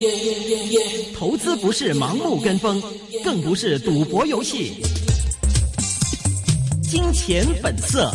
投資不是盲目跟風，更不是賭博遊戲。金錢本色。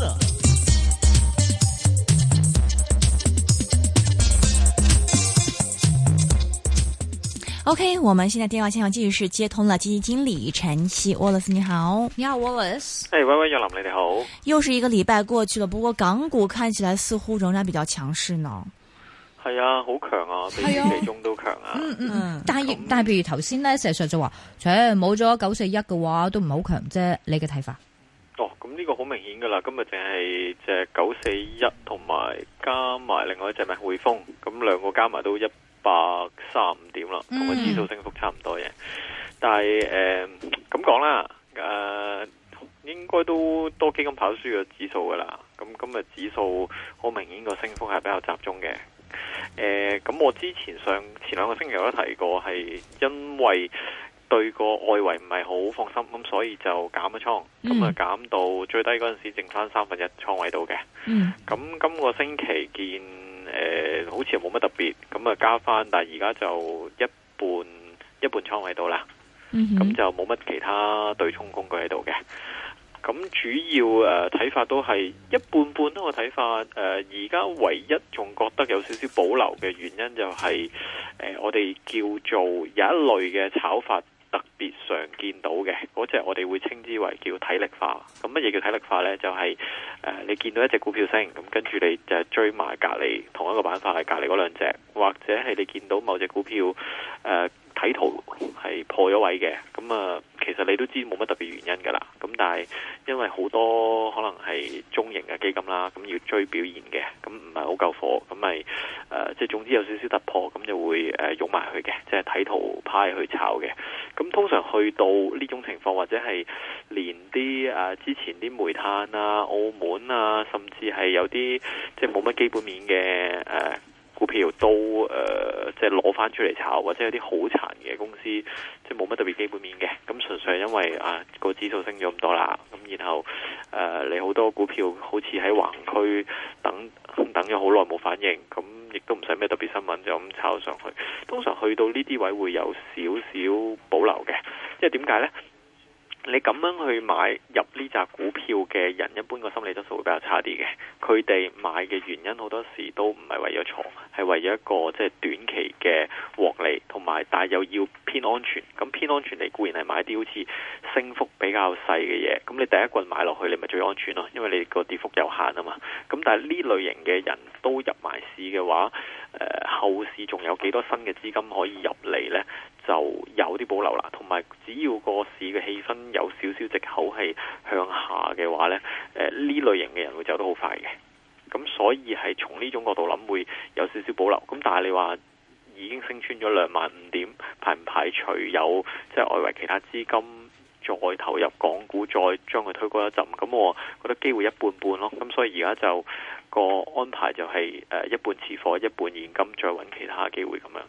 OK， 我們現在電話線上繼續是接通了基金經理陳昕 Wallace， 你好。 你好 Wallace。 喂，若琳，你哋好。 又是一個禮拜過去了，不過港股看起來似乎仍然比較強勢呢。 係啊，好強啊，比預期中都強啊。 但係譬如頭先咧，石 Sir就話，冇咗941嘅話，都唔係好強啫。你嘅睇法？ 哦，咁呢個好明顯噶啦，今日淨係隻941同埋加埋另外一隻咩匯豐，咁兩個加埋都135點啦，同個指數升幅差唔多嘅。但係咁講啦，應該都多基金跑輸個指數噶啦。咁今日指數好明顯個升幅係比較集中嘅。咁我前兩個星期有提過，係因為對個外圍唔係好放心，咁所以就減咗倉，咁啊減到最低嗰陣時剩翻1/3倉位度嘅。咁今個星期見好似冇乜特別，咁啊加翻，但係而家就一半倉位度啦。咁就冇乜其他對沖工具喺度嘅。咁主要睇法都係一半半咯。我睇法而家唯一仲覺得有少少保留嘅原因就係我哋叫做有一類嘅炒法特別常見到嘅嗰隻，我哋會稱之為叫體力化。咁乜嘢叫體力化呢？就係你見到一隻股票升，咁跟住你就追埋隔離同一個板塊隔離嗰兩隻，或者係你見到某隻股票睇圖係破咗位嘅，咁啊，其實你都知冇乜特別原因噶啦。咁但係因為好多可能係中型嘅基金啦，咁要追表現嘅，咁唔係好夠火，咁咪即係總之有少少突破，咁就會湧埋去嘅，即係睇圖派去炒嘅。咁通常去到呢種情況，或者係連啲之前啲煤炭啊、澳門啊，甚至係有啲即係冇乜基本面嘅股票都即係攞翻出嚟炒，或者有啲好殘嘅公司，即係冇乜特別基本面嘅，咁純粹係因為個指數升咗咁多啦，咁然後你好多股票好似喺橫區等咗好耐冇反應，咁亦都唔使咩特別新聞就咁炒上去。通常去到呢啲位會有少少保留嘅，即係點解呢？你咁樣去買入呢隻股票嘅人，一般個心理質素會比較差啲嘅。佢哋買嘅原因好多時都唔係為咗錯，係為咗一個即係短期嘅獲利，同埋但係又要偏安全。咁偏安全你固然係買啲好似升幅比較細嘅嘢，咁你第一棍買落去你咪最安全咯，因為你個跌幅有限啊嘛。咁但係呢類型嘅人都入埋市嘅話，後市仲有幾多新嘅資金可以入嚟呢？就有啲保留啦。同埋只要個市嘅氣氛有少少藉口係向下嘅話呢，呢類型嘅人會走得好快嘅。咁所以係從呢種角度諗會有少少保留。咁但係你話已經升穿咗25,000點，排唔排除有即係外圍其他資金再投入港股，再將佢推高一陣？咁我覺得機會一半半咯。咁所以而家就個安排就係一半持貨，一半現金，再揾其他機會咁樣。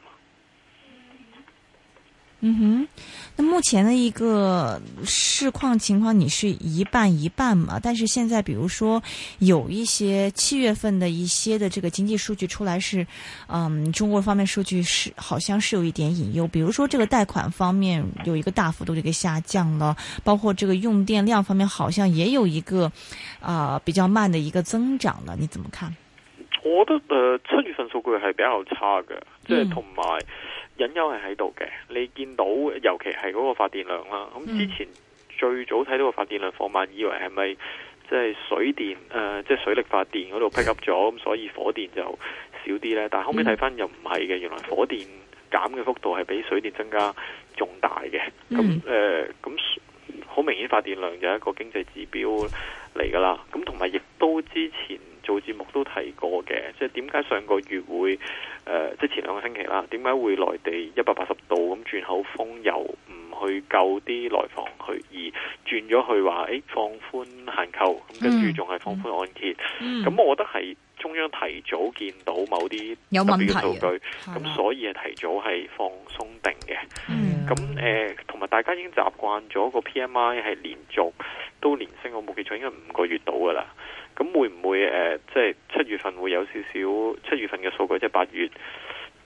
那目前的一個市況情況，你是一半一半嘛？但是現在，比如說有一些7月份的一些的這個經濟數據出來是，中國方面數據是好像是有一點隱憂。比如說這個貸款方面有一個大幅度這個下降了，包括這個用電量方面好像也有一個比較慢的一個增長了。你怎麼看？ 我覺得7月份數據係比較差嘅，即係同埋。隱憂係喺度嘅，你見到尤其係嗰個發電量啦。咁之前最早睇到個發電量放慢，以為係咪即係水電即係水力發電嗰度 pick up 咗，咁所以火電就少啲呢？但係後尾睇翻又唔係嘅，原來火電減嘅幅度係比水電增加仲大嘅。咁好明顯發電量就係一個經濟指標嚟噶啦。咁同埋亦都之前做節目都提過嘅，即係點解上個月會即係前2個星期啦，點解會內地180度咁轉口風，又唔去救啲內房去，而轉咗去話放寬限購，咁跟住仲係放寬按揭。咁我覺得係中央提早見到某啲特別嘅數據，咁所以係提早係放鬆定嘅。咁同埋大家已經習慣咗個 PMI 係連續都連升，我冇記錯應該5個月到噶啦。咁會唔會即係7月份會有少少7月份嘅數據，即係8月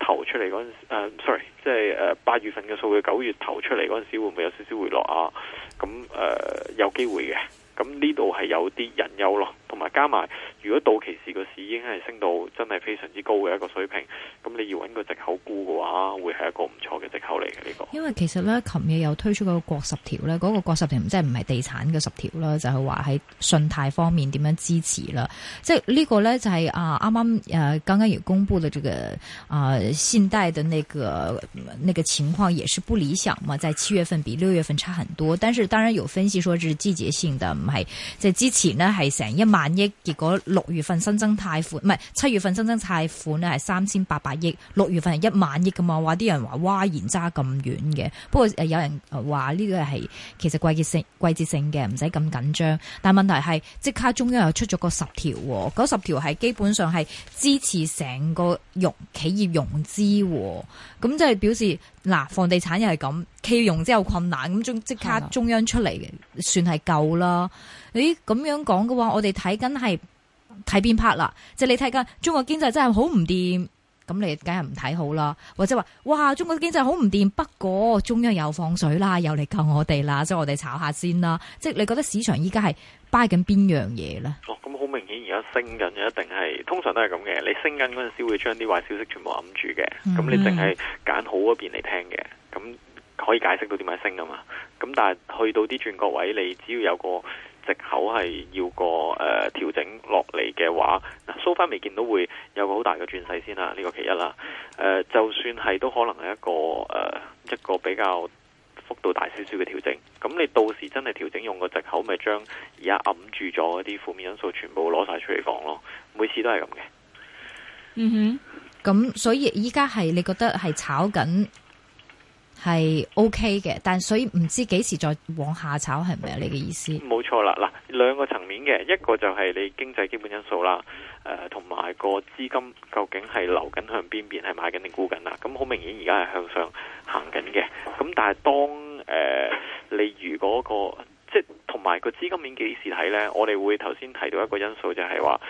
頭出嚟嗰陣，sorry， 即係8月份嘅數據9月頭出嚟嗰陣時，會唔會有少少回落啊？咁有機會嘅。咁呢度係有啲隱憂咯，同埋加埋，如果到期時個市已經係升到真係非常之高嘅一個水平，咁你要揾個藉口沽嘅話，會係一個唔錯嘅藉口嚟嘅呢個。 因為其實咧，琴日又推出嗰個國十條咧，嗰個國十條即係唔係地產嘅10條啦，就係話喺信貸方面點樣支持啦。即係呢個咧就係啱啱剛剛也公布的這個信貸的那個情況也是不理想嘛，在7月份比6月份差很多，但是當然有分析說是季節性的。唔係，即係之前呢係成1萬億，結果6月份新增貸款，唔係7月份新增貸款呢係3800億，6月份係1萬億噶嘛，話啲人話哇，然差咁遠嘅。不過有人話呢個係其實季節性嘅，唔使咁緊張。但係問題係即刻中央又出咗個10條，嗰10條係基本上係支持成個企業融資，咁即係表示嗱，房地產又係咁，企業融資有困難，咁即刻中央出嚟嘅，算係夠啦。咁樣講嘅話，我哋睇緊係睇邊 part 啦？即係你睇緊中國經濟真係好唔掂，咁你梗係唔睇好啦。或者話哇，中國經濟好唔掂，不過中央又放水啦，又嚟救我哋啦，所以我哋炒下先啦。即係你覺得市場依家係 buy 緊邊樣嘢咧？ 咁好明顯而家升緊嘅一定係，通常都係咁嘅。你升緊嗰陣時會將啲壞消息全部揞住嘅，咁你淨係揀好嗰邊嚟聽嘅，咁可以解釋到點解升啊嘛。咁但係去到啲轉角位，你只要有個藉口係要個調整落嚟嘅話，so far未見到會有個好大嘅轉勢先啦，呢個其一啦。就算係都可能係一個比較幅度大少少嘅調整。咁你到時真係調整用個藉口，咪將而家揞住咗嗰啲負面因素全部攞晒出嚟講咯。每次都係咁嘅。 嗯哼，咁所以依家係你覺得係炒緊係 OK 嘅，但所以唔知幾時再往下炒，係咪啊？你嘅意思？ 冇錯啦，嗱，兩個層面嘅，一個就係你經濟基本因素啦，同埋個資金究竟係流緊向邊邊，係買緊定沽緊啦。咁好明顯而家係向上行緊嘅。咁但係當你如果即係同埋個資金面幾時睇呢？我哋會頭先提到一個因素就係話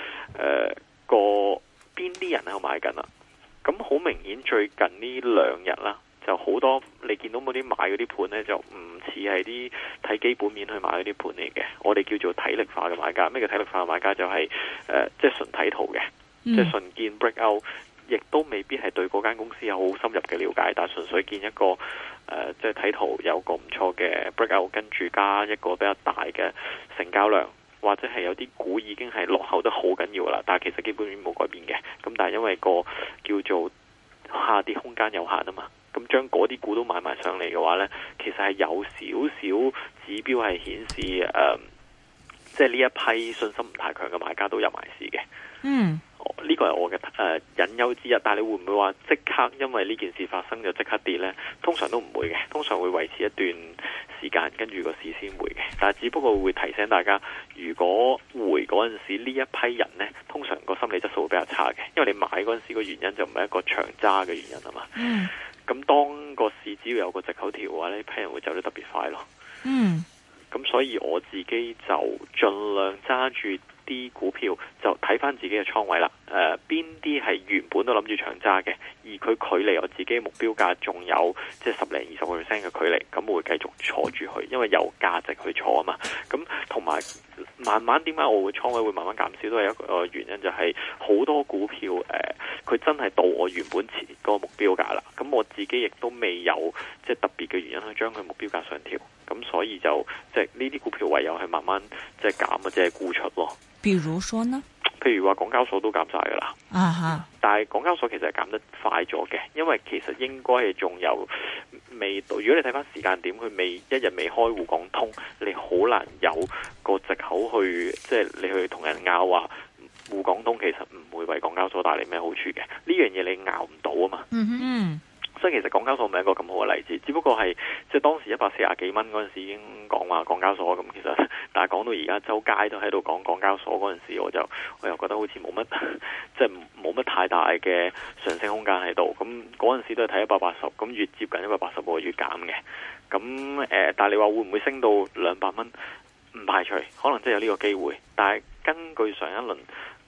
邊啲人喺度買緊啦。咁好明顯最近呢2日啦，就好多你見到嗰啲買嗰啲盤呢，就唔似係啲睇基本面去買嗰啲盤嚟嘅。我哋叫做體力化嘅買家。咩叫體力化嘅買家？就係即係純睇圖嘅，即係純見 breakout，亦都未必係對嗰間公司有好深入嘅了解，但係純粹見一個即係睇圖有個唔錯嘅 breakout，跟住加一個比較大嘅成交量，或者係有啲股已經係落後得好緊要啦，但係其實基本面冇改變嘅。咁但係因為個叫做下跌空間有限啊嘛。咁將嗰啲股都買埋上嚟嘅話呢，其實係有少少指標係顯示即係呢一批信心唔太強嘅買家都入埋市嘅。呢個係我嘅隱憂之一。但係你會唔會話即刻因為呢件事發生就即刻跌呢？通常都唔會嘅，通常會維持一段時間，跟住個市先回嘅。但係只不過會提醒大家，如果回嗰陣時呢一批人呢，通常個心理質素會比較差嘅，因為你買嗰陣時個原因就唔係一個長揸嘅原因啊嘛。咁當個市只要有個藉口調嘅話，呢批人會走得特別快咯。咁所以我自己就盡量揸住啲股票，就睇翻自己嘅倉位啦。邊啲係原本都諗住長揸嘅，而佢距離我自己目標價仲有即係10-20%嘅距離，咁我會繼續坐住佢，因為有價值去坐啊嘛。咁同埋慢慢點解我會倉位會慢慢減少，都係一個原因，就係好多股票佢真係到我原本前個目標價啦。咁我自己亦都未有即係特別嘅原因去將佢目標價上調，咁所以就即係呢啲股票唯有係慢慢即係減或者係沽出咯。 比如說呢？ 譬如話港交所都減晒噶啦，但係港交所其實係減得快咗嘅，因為其實應該係仲有未到。如果你睇翻時間點，佢一日未開滬港通，你好難有個藉口去即係你去同人拗話滬港通其實唔會為港交所帶嚟咩好處嘅。呢樣嘢你拗唔到啊嘛。所以其實港交所唔係一個咁好嘅例子，只不過係即係當時140幾蚊嗰陣時已經講話港交所咁，其實但係講到而家周街都喺度講港交所嗰陣時，我又覺得好似冇乜即係冇乜太大嘅上升空間喺度。咁嗰陣時都係睇180，咁越接近180個越減嘅。咁但係你話會唔會升到200蚊？唔排除，可能真係有呢個機會。但係根據上一輪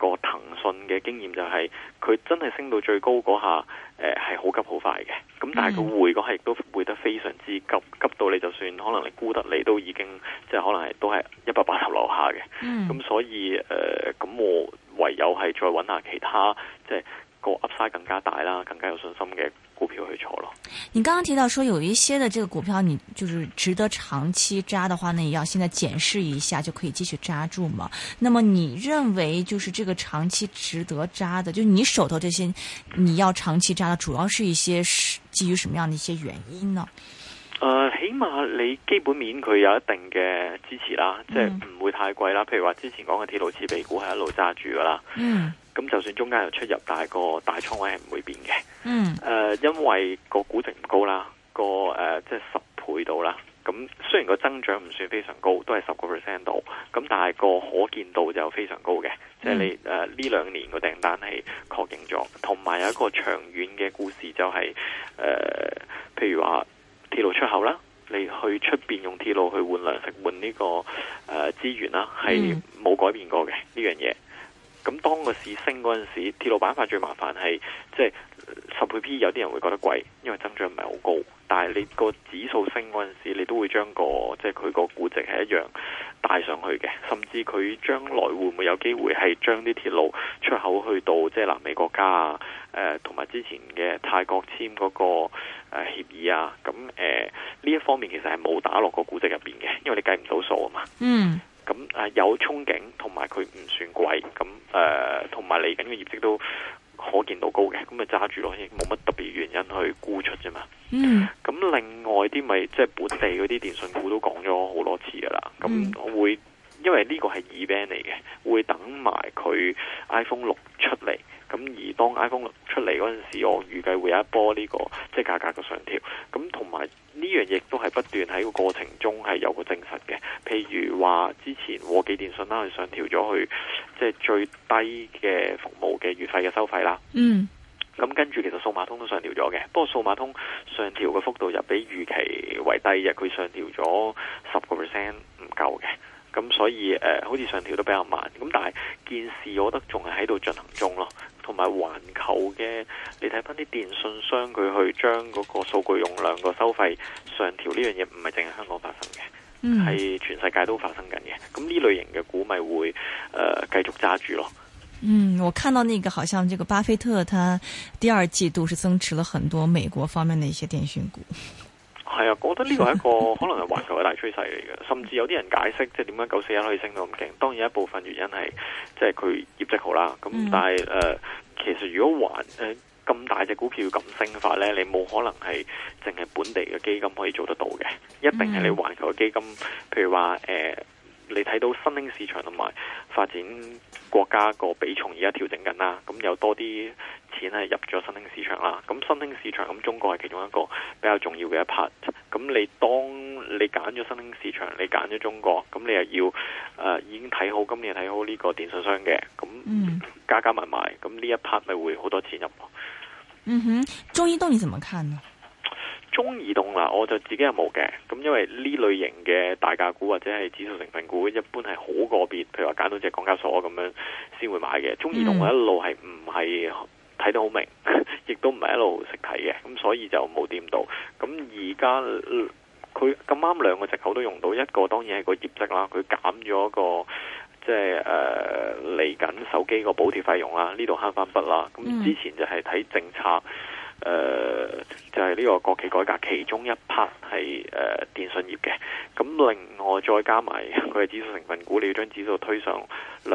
個騰訊嘅經驗就係佢真係升到最高嗰下，係好急好快嘅。咁但係佢回嗰下亦都回得非常之急，急到你就算可能你沽得你都已經即係可能係都係180樓下嘅。咁所以咁我唯有係再揾下其他即係個 Upside 更加大啦，更加有信心嘅股票去坐咯。 你剛剛提到說有一些的這個股票，你就是值得長期揸的話，那你要現在檢視一下就可以繼續揸住嘛？那麼你認為就是這個長期值得揸的，就你手頭這些你要長期揸的，主要是一些基於什麼樣的一些原因呢？ 起碼你基本面佢有一定嘅支持啦，即係唔會太貴啦。譬如話之前講嘅鐵路設備股係一路揸住噶啦。咁就算中間有出入，但係個大倉位係唔會變嘅。因為個估值唔高啦，即係10倍度啦。咁雖然個增長唔算非常高，都係10% 度。咁但係個可見度就非常高嘅，即係你呢2年個訂單係確認咗，同埋有一個長遠嘅故事就係譬如話鐵路出口啦，你去出邊用鐵路去換糧食換呢個資源啦，係冇改變過嘅呢樣嘢。咁當個市升嗰陣時，鐵路板塊最麻煩係即係10倍 P， 有啲人會覺得貴，因為增長唔係好高。但係你個指數升嗰陣時，你都會將即係佢個估值係一樣帶上去嘅。甚至佢將來會唔會有機會係將啲鐵路出口去到即係南美國家啊？同埋之前嘅泰國簽嗰個協議啊？咁呢一方面其實係冇打落個估值入邊嘅，因為你計唔到數啊嘛。咁有憧憬，同埋佢唔算貴，咁同埋嚟緊嘅業績都可見到高嘅，咁咪揸住咯，亦冇乜特別原因去沽出啫嘛。咁另外啲咪即係本地嗰啲電信股都講咗好多次噶啦，咁我會因為呢個係 event 嚟嘅，會等埋佢 iPhone 6出嚟。咁而當 iPhone 6出嚟嗰陣時，我預計會有一波呢個即係價格嘅上調。咁同埋呢樣嘢都係不斷喺個過程中係有個證實嘅。譬如話之前和記電信啦，佢上調咗去即係最低嘅服務嘅月費嘅收費啦。咁跟住其實數碼通都上調咗嘅，不過數碼通上調嘅幅度又比預期為低嘅，佢上調咗10%唔夠嘅。咁所以好似上調都比較慢。咁但係件事我覺得仲係喺度進行中咯。同埋環球嘅，你睇翻啲電信商佢去將嗰個數據容量個收費上調呢樣嘢，唔係淨係香港發生嘅，係全世界都發生緊嘅。咁呢類型嘅股咪會繼續揸住咯。 我看到那個好像這個巴菲特，他第2季度是增持了很多美國方面的一些電訊股。 係啊，我覺得呢個係一個可能係環球嘅大趨勢嚟嘅，甚至有啲人解釋即係點解941可以升到咁勁。當然一部分原因係即係佢業績好啦。咁但係其實如果咁大隻股票咁升法呢，你冇可能係淨係本地嘅基金可以做得到嘅，一定係你環球嘅基金。譬如話你睇到新興市場同埋發展國家個比重而家調整緊啦，咁有多啲錢係入咗新興市場啦。咁新興市場咁中國係其中一個比較重要嘅一 part。咁你當你揀咗新興市場，你揀咗中國，咁你又要已經睇好今年睇好呢個電信商嘅，咁加埋埋，咁呢一 part 咪會好多錢入。 中移動你怎麼看呢？ 中移動啦，我就自己係冇嘅。咁因為呢類型嘅大價股或者係指數成分股，一般係好個別，譬如話揀到隻港交所咁樣先會買嘅。中移動我一路係唔係睇得好明，亦都唔係一路識睇嘅，咁所以就冇掂到。咁而家佢咁啱兩個藉口都用到，一個當然係個業績啦，佢減咗個即係嚟緊手機個補貼費用啦，呢度慳翻筆啦。咁之前就係睇政策。就係呢個國企改革其中一 part 係電信業嘅，咁另外再加埋佢嘅指數成分股，你要將指數推上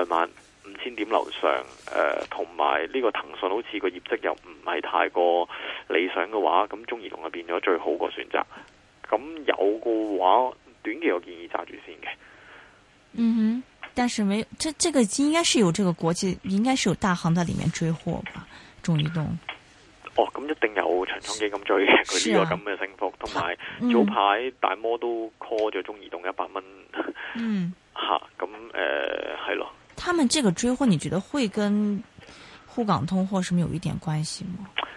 25,000點樓上，同埋呢個騰訊好似個業績又唔係太過理想嘅話，咁中移動就變咗最好個選擇。咁有嘅話，短期我建議揸住先嘅。 但是沒這個應該是有這個國際，應該是有大行在裏面追貨吧？中移動。咁一定有長倉基金追嘅，佢呢個咁嘅升幅，同埋早排大摩都 call 咗中移動100蚊，咁係咯。他們這個追貨，你覺得會跟滬港通或什麼有一點關係嗎？ 其實同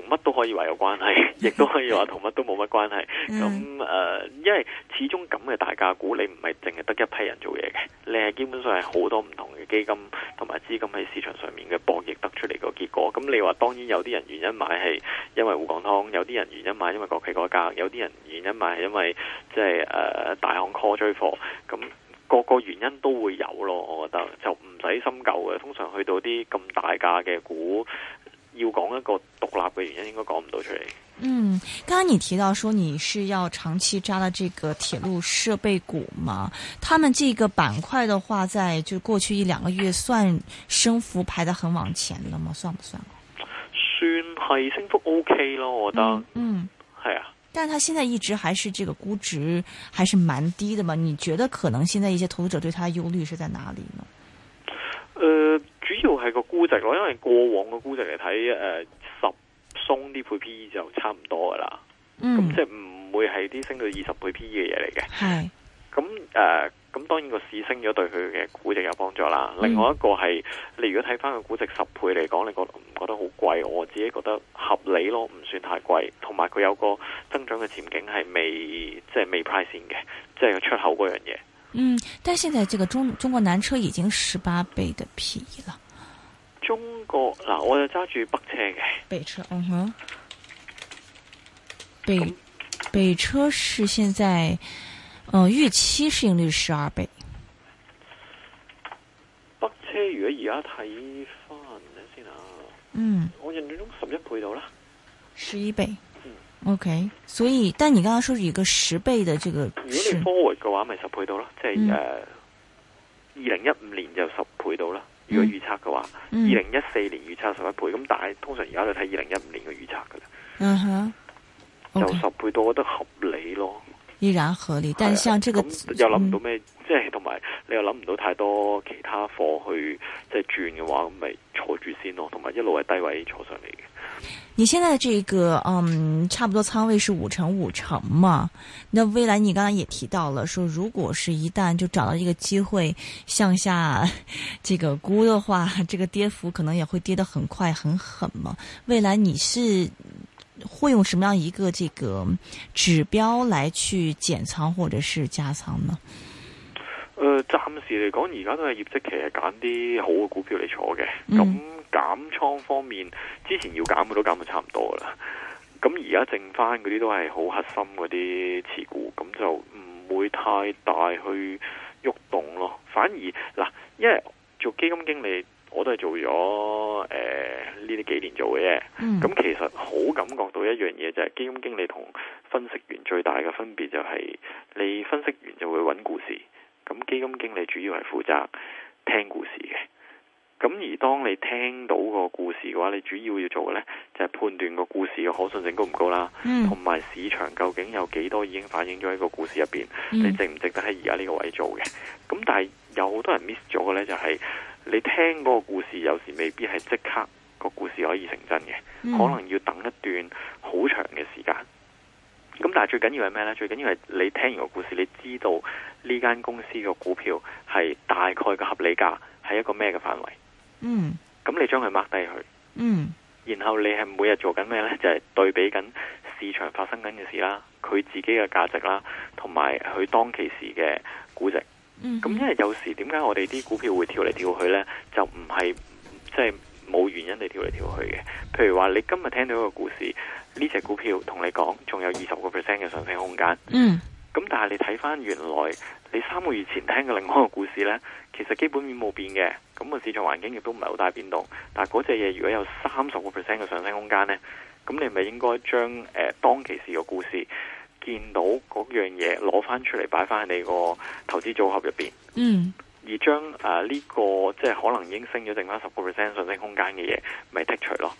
乜都可以話有關係，亦都可以話同乜都冇乜關係。咁因為始終咁嘅大價股，你唔係淨係得一批人做嘢嘅，你係基本上係好多唔同嘅基金同埋資金喺市場上面嘅博弈得出嚟個結果。咁你話當然有啲人原因買係因為滬港通，有啲人原因買因為國企改革，有啲人原因買係因為即係大行 call 追貨咁。個個原因都會有咯，我覺得就唔使深究嘅。通常去到啲咁大價嘅股，要講一個獨立嘅原因，應該講唔到出嚟。 剛剛你提到說你是要長期揸的這個鐵路設備股嘛？他們這個板塊的話，在就過去1-2個月算升幅排得很往前了嗎？算不算？ 算係升幅 OK 咯，我覺得。係啊。 但它現在一直還是這個估值還是蠻低的嘛？你覺得可能現在一些投資者對它的憂慮是在哪裡呢？ 主要係個估值咯，因為過往嘅估值嚟睇，10鬆啲倍 PE 就差唔多噶啦。咁即係唔會係啲升到20倍 PE 嘅嘢嚟嘅。係。咁當然個市升咗對佢嘅估值有幫助啦。另外一個係你如果睇翻個估值10倍嚟講，你覺得唔覺得好貴？我自己覺得合理咯，唔算太貴。同埋佢有個增長嘅前景係未 price in 嘅，即係出口嗰樣嘢。 但係現在這個中國南車已經18倍的 PE 了。 中國嗱，我就揸住北車嘅。 北車，北車是現在。預期市盈率12倍。 北車如果而家睇翻先啊，我印象中11倍到啦 ，11倍，OK。所以，但你剛剛說是一個10倍的這個，如果你 forward 嘅話，咪10倍到啦，即係2015年就10倍到啦。如果預測嘅話，2014年預測11倍，咁但係通常而家都睇2015年嘅預測噶啦。就10倍到，我覺得合理咯。 依然合理，但像這個又諗唔到咩，即係同埋你又諗唔到太多其他貨去即係轉嘅話，咁咪坐住先咯，同埋一路係低位坐上嚟嘅。 你現在這個差不多倉位是5成嘛？那未來你剛才也提到了，說如果是一旦就找到一個機會向下這個沽的話，這個跌幅可能也會跌得很快很狠嘛？未來你是會用什麼樣一個這個指標來去減倉或者是加倉呢？ 暫時嚟講，而家都係業績期，係揀啲好嘅股票嚟坐嘅。咁減倉方面，之前要減嘅都減到差唔多啦。咁而家剩翻嗰啲都係好核心嗰啲持股，咁就唔會太大去喐動咯。反而嗱，因為做基金經理，我都係做咗呢啲幾年做嘅啫。咁其實好感覺到一樣嘢，就係基金經理同分析員最大嘅分別就係，你分析員就會揾故事，咁基金經理主要係負責聽故事嘅。咁而當你聽到個故事嘅話，你主要做嘅呢就係判斷個故事嘅可信性高唔高啦，同埋市場究竟有幾多已經反映咗喺個故事入邊，你值唔值得喺而家呢個位做嘅。咁但係有好多人 miss 咗嘅呢，就係你聽嗰個故事有時未必係即刻個故事可以成真嘅，可能要等一段好長嘅時間。咁但係最緊要係咩呢？最緊要係你聽完個故事，你知道呢間公司嘅股票係大概嘅合理價係一個咩嘅範圍。咁你將佢 mark 低佢。然後你係每日做緊咩呢？就係對比緊市場發生緊嘅事啦，佢自己嘅價值啦，同埋佢當其時嘅估值。咁因為有時點解我哋啲股票會跳嚟跳去呢？就唔係即係冇原因地跳嚟跳去嘅。譬如話你今日聽到一個故事，呢隻股票同你講仲有20%嘅上升空間。咁但係你睇翻原來你3個月前聽嘅另外一個故事呢，其實基本面冇變嘅，咁個市場環境亦都唔係好大變動。但係嗰隻嘢如果有30%嘅上升空間呢，咁你咪應該將當其時嘅故事見到嗰樣嘢攞翻出嚟擺翻喺你個投資組合入邊。而將呢個即係可能已經升咗剩翻10% 上升空間嘅嘢，咪剔除咯。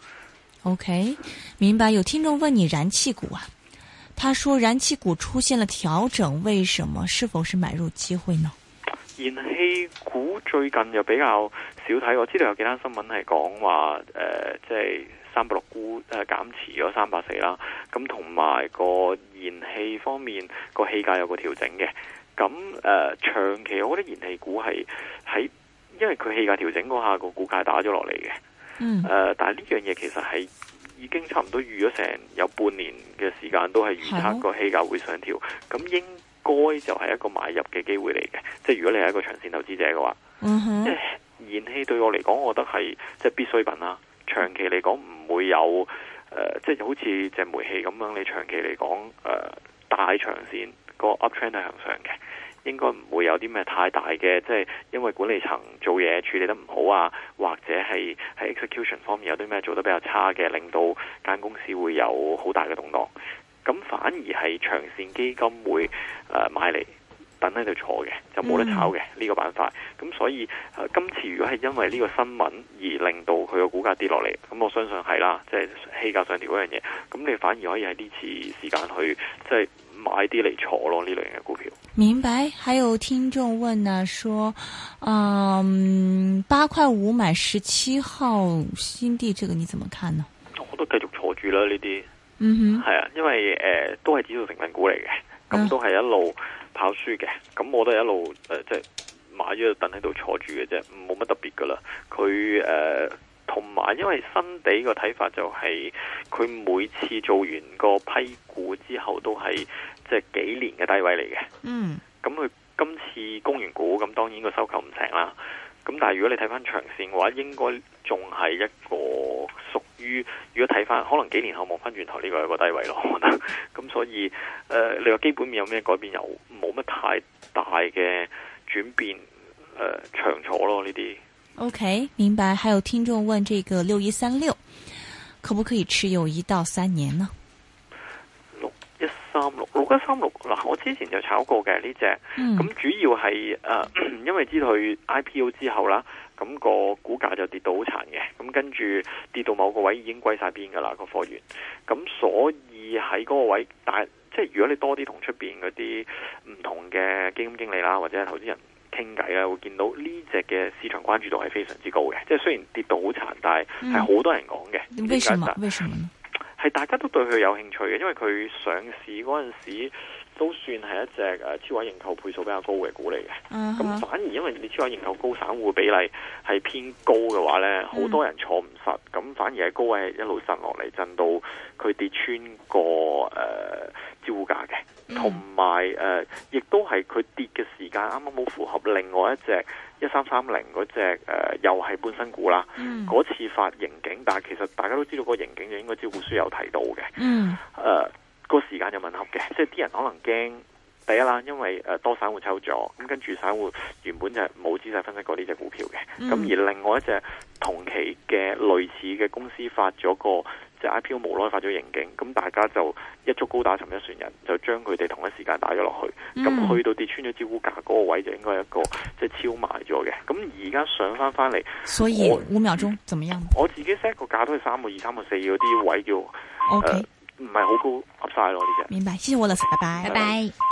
OK，明白。有聽眾問你燃氣股啊？他說燃氣股出現了調整，為什麼？是否是買入機會呢？ 燃氣股最近又比較少睇，我知道有幾單新聞係講話即係360股減持咗340啦，咁同埋個燃氣方面個氣價有個調整嘅。咁長期我覺得燃氣股係喺因為佢氣價調整嗰下個股價打咗落嚟嘅。但係呢樣嘢其實係已經差唔多預咗成有半年嘅時間，都係預測個氣價會上調，咁應該就係一個買入嘅機會嚟嘅。即係如果你係一個長線投資者嘅話，即係燃氣對我嚟講，我覺得係即係必需品啦。長期嚟講唔會有即係好似隻煤氣咁樣，你長期嚟講大長線個 uptrend 係向上嘅。應該唔會有啲咩太大嘅，即係因為管理層做嘢處理得唔好啊，或者係喺 execution 方面有啲咩做得比較差嘅，令到間公司會有好大嘅動盪。咁反而係長線基金會買嚟等喺度坐嘅，就冇得炒嘅呢個板塊。咁所以今次如果係因為呢個新聞而令到佢個股價跌落嚟，咁我相信係啦，即係氣價上調嗰樣嘢。咁你反而可以喺呢次時間去即係買啲嚟坐咯，呢類型嘅股票。 明白。還有聽眾問呢，說8.5買17號新地，這個你怎麼看呢？ 我都繼續坐住啦呢啲。係啊，因為都係指數成分股嚟嘅，咁都係一路跑輸嘅，咁我都係一路即係買咗等喺度坐住嘅啫，冇乜特別噶啦。佢同埋因為新地個睇法就係佢每次做完個批股之後都係即係幾年嘅低位嚟嘅。咁佢今次供完股，咁當然個收購唔成啦。咁但係如果你睇翻長線嘅話，應該仲係一個屬於，如果睇翻可能幾年後望翻轉頭，呢個係個低位咯，我覺得。咁所以你話基本面有咩改變，又冇乜太大嘅轉變，長坐咯呢啲。OK， 明白。還有聽眾問，這個6136可不可以持有1到3年呢？6136嗱，我之前就炒過嘅呢隻，咁主要係因為知道佢 IPO 之後啦，咁個股價就跌到好殘嘅，咁跟住跌到某個位已經歸晒邊噶啦個貨源，咁所以喺嗰個位，但係即係如果你多啲同出邊嗰啲唔同嘅基金經理啦，或者係投資人傾偈啦，會見到呢隻嘅市場關注度係非常之高嘅，即係雖然跌到好殘，但係係好多人講嘅。為什麼呢？係大家都對佢有興趣嘅，因為佢上市嗰陣時都算係一隻超額認購倍數比較高嘅股嚟嘅。咁反而因為你超額認購高，散戶比例係偏高嘅話呢，好多人坐唔實，咁反而係高位一路震落嚟，震到佢跌穿個招股價嘅。同埋亦都係佢跌嘅時間啱啱好符合另外一隻1330嗰隻又係半新股啦。嗰次發盈警，但係其實大家都知道個盈警就應該招股書有提到嘅。個時間就吻合嘅，即係啲人可能驚第一啦，因為多散戶抽咗，咁跟住散戶原本就係冇仔細分析過呢隻股票嘅。咁而另外一隻同期嘅類似嘅公司發咗個即係 IPO 無奈發咗盈警，咁大家就一足高打沉一船人，就將佢哋同一時間打咗落去。咁去到跌穿咗招股價嗰個位就應該係一個即係超賣咗嘅。咁而家上翻嚟，所以5秒鐘怎麼樣？ 我自己 set 個價都係3個2、3個4嗰啲位叫唔係好高 Upside 咯呢隻。 明白，謝謝Wallace，拜拜。 拜拜。